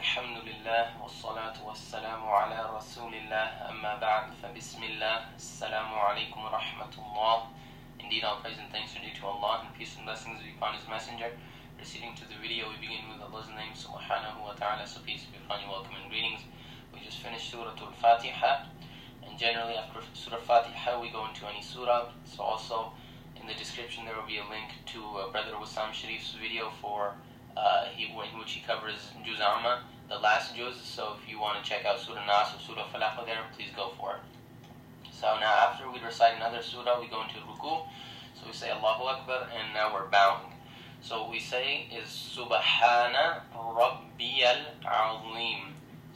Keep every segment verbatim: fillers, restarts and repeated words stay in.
الحمد لله والصلاة والسلام على رسول الله أما بعد فبسم الله السلام عليكم ورحمة الله. Indeed, all praise and thanks are due to Allah, and peace and blessings be upon His Messenger. Proceeding to the video, we begin with Allah's name, subhanahu wa ta'ala, so peace be upon you, welcome and greetings. We just finished Surah Al-Fatiha, and generally after Surah Al-Fatiha we go into any surah, so also in the description there will be a link to uh, Brother Wassam Sharif's video for Uh, he, in which he covers Juz Amma, the last Juz. So if you want to check out Surah Nas or Surah Falaq there, please go for it. So now after we recite another surah, we go into Ruku. So we say Allahu Akbar, and now we're bowing. So what we say is Subhana Rabbiyal Azim.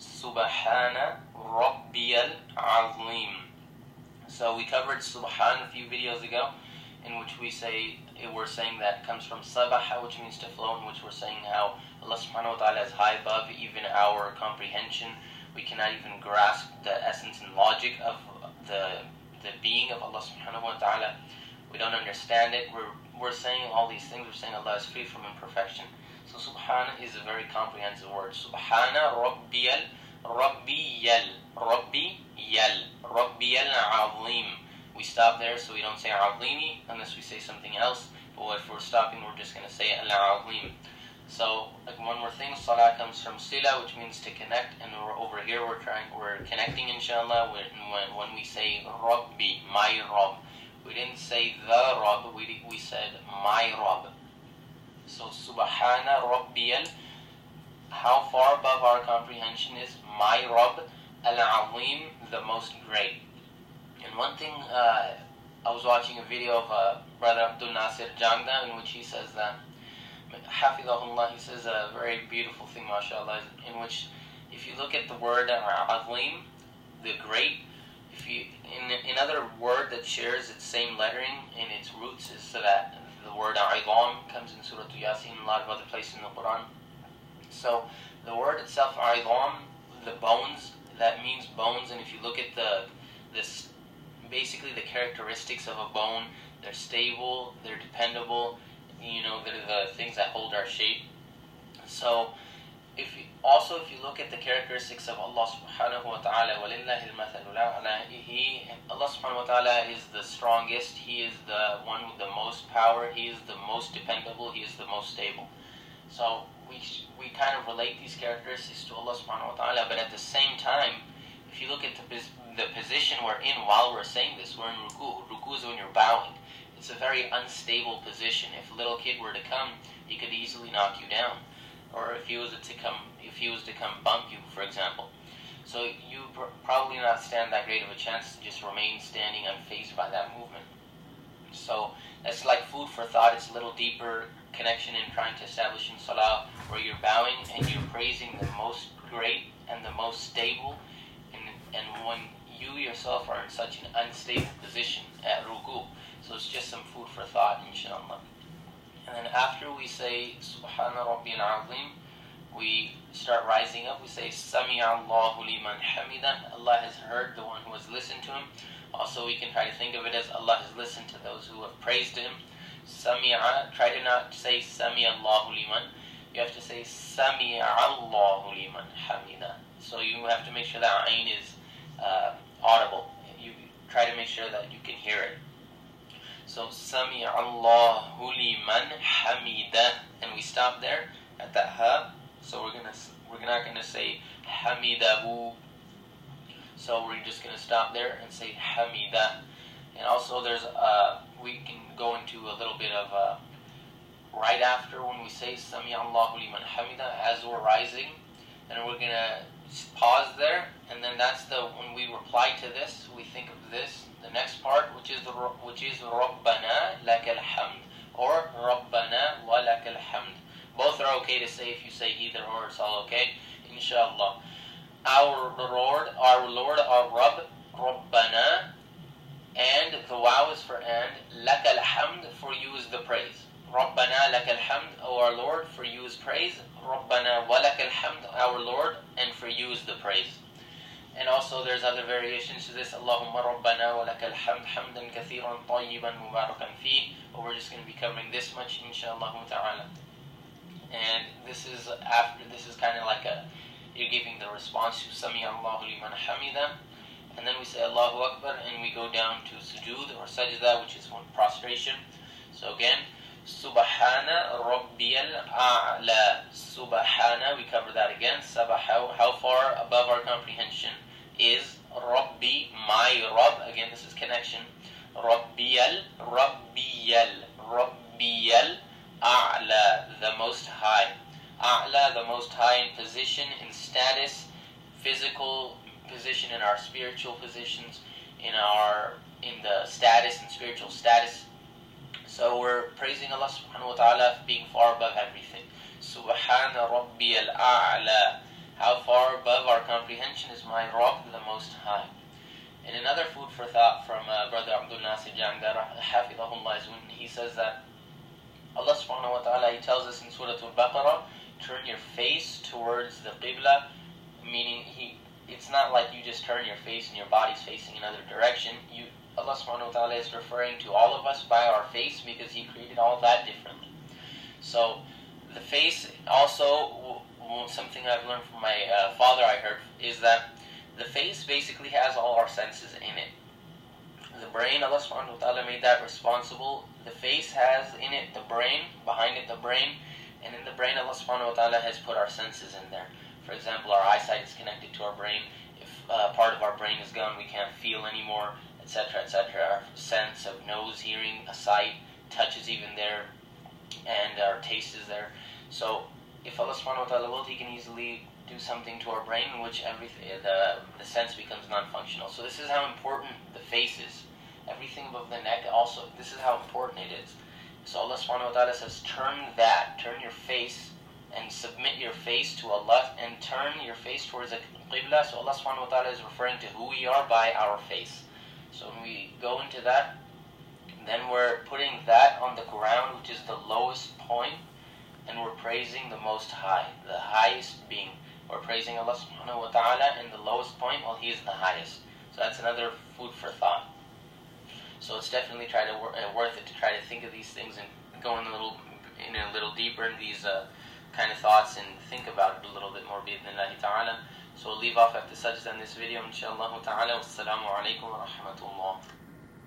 Subhana Rabbiyal Azim. So we covered Subhan a few videos ago, in which we say, we're saying that comes from Sabaha, which means to flow, in which we're saying how Allah subhanahu wa ta'ala is high above even our comprehension. We cannot even grasp the essence and logic of the the being of Allah subhanahu wa ta'ala. We don't understand it. We're, we're saying all these things. We're saying Allah is free from imperfection. So Subhana is a very comprehensive word. Subhana Rabbiyal, Rabbiyal, Rabbiyal, Rabbiyal Azim. We stop there, so we don't say Azimi unless we say something else. But if we're stopping, we're just going to say Al-Azim. So, like one more thing, Salah comes from Sila, which means to connect. And we're over here, we're trying, we're connecting, inshallah, when, when, when we say Rabbi, my Rabb. We didn't say the Rabb, we, we said my Rabb. So, Subhana Rabbiyal, how far above our comprehension is my Rabb, Al-Azim, the most great. And one thing, uh, I was watching a video of uh, Brother Abdul Nasir Jangda, in which he says that, Hafidahullah, he says a very beautiful thing, mashallah, in which if you look at the word Azim, the great, if you, in another word that shares its same lettering in its roots, is so that the word Izam comes in Surah Yasin and a lot of other places in the Quran. So the word itself, Izam, the bones, that means bones, and if you look at the this basically the characteristics of a bone, they're stable, they're dependable, you know, they're the things that hold our shape. So if you, also if you look at the characteristics of Allah subhanahu wa ta'ala, وَلِلَّهِ الْمَثَلُ الْأَعْلَى, He, Allah subhanahu wa ta'ala is the strongest, He is the one with the most power, He is the most dependable, He is the most stable. So we, we kind of relate these characteristics to Allah subhanahu wa ta'ala, but at the same time, if you look at the, the position we're in while we're saying this, we're in ruku. Ruku is when you're bowing. It's a very unstable position. If a little kid were to come, he could easily knock you down. Or if he was to come, if he was to come bump you, for example. So you pr probably not stand that great of a chance to just remain standing unfazed by that movement. So that's like food for thought. It's a little deeper connection in trying to establish in salah, where you're bowing and you're praising the most great and the most stable. And when you yourself are in such an unstable position at ruku, so it's just some food for thought, inshallah. And then after we say Subhana Rabbiyal Azim, we start rising up. We say Sami'a Allahu liman hamida. Allah has heard the one who has listened to him. Also, we can try to think of it as Allah has listened to those who have praised him. Sami'a. Try to not say Sami'a Allahu liman. You have to say Sami'a Allahu liman hamida. So you have to make sure that ayn is Uh, audible. You try to make sure that you can hear it. So Sami'a Allahu liman hamida, and we stop there at that ha. So we're gonna we're not gonna say hamidahu. So we're just gonna stop there and say hamida. And also there's uh we can go into a little bit of uh, right after when we say Sami'a Allahu liman hamida, as we're rising, and we're gonna pause there, and then that's the when we reply to this, we think of this, the next part, which is the which is Rabbana lakal hamd, or Rabbana wa lakal hamd. Both are okay to say. If you say either or, it's all okay, inshallah. Our Lord, our Lord, our Rabb, Rabbana, and the waw is for and, lakal hamd, for you is the praise. Rabbana lakal hamd, O our Lord, for you is praise. Rabbana wa lakal hamd, our Lord, and for you is the praise. And also there's other variations to this. Allahumma Rabbana wa lakal hamd, hamdan kathiran tayyiban mubarakan fi. But we're just going to be covering this much, inshallah ta'ala. And this is after, this is kind of like a you're giving the response to Sami Allahu liman hamida, and then we say Allahu Akbar, and we go down to sujood or sajda, which is one prostration. So again, Subhana Rabbiyal A'la. Subhana, we cover that again. Sabaha, how far above our comprehension is Rabbi, my Rabb. Again, this is connection. Rabbiyal, Rabbiyal, Rabbiyal A'la, the most high. A'la, the most high in position, in status, physical position, in our spiritual positions, in our in the status and spiritual status. So we're praising Allah subhanahu wa ta'ala for being far above everything. Subhana Rabbiyal A'la. How far above our comprehension is my Rabb, the most high. And another food for thought from uh, Brother Abdul Nasir Jangdar, Hafidahullah, is when he says that Allah subhanahu wa ta'ala, He tells us in Surah Al-Baqarah, turn your face towards the Qibla, meaning He, it's not like you just turn your face and your body's facing another direction. You, Allah subhanahu wa ta'ala is referring to all of us by our face because He created all that differently. So the face also, something I've learned from my uh, father, I heard, is that the face basically has all our senses in it. The brain, Allah subhanahu wa ta'ala made that responsible. The face has in it the brain, behind it the brain, and in the brain Allah subhanahu wa ta'ala has put our senses in there. For example, our eyesight is connected to our brain. If uh, part of our brain is gone, we can't feel anymore, et cetera, et cetera. Our sense of nose, hearing, a sight, touch is even there, and our taste is there. So if Allah subhanahu wa ta'ala will, He can easily do something to our brain in which everything, the, the sense becomes non-functional. So this is how important the face is. Everything above the neck also, this is how important it is. So Allah subhanahu wa ta'ala says, turn that, turn your face and submit your face to Allah and turn your face towards the Qibla. So Allah subhanahu wa ta'ala is referring to who we are by our face. So when we go into that, then we're putting that on the ground, which is the lowest point, and we're praising the Most High, the highest being. We're praising Allah subhanahu wa ta'ala in the lowest point while He is the highest. So that's another food for thought. So it's definitely try to uh, worth it to try to think of these things and go in a little, in a little deeper in these uh, kind of thoughts and think about it a little bit more, bi'idhnillahi ta'ala. So we'll leave off after sajda in this video, inshallah ta'ala. Wassalamu alaikum wa rahmatullah.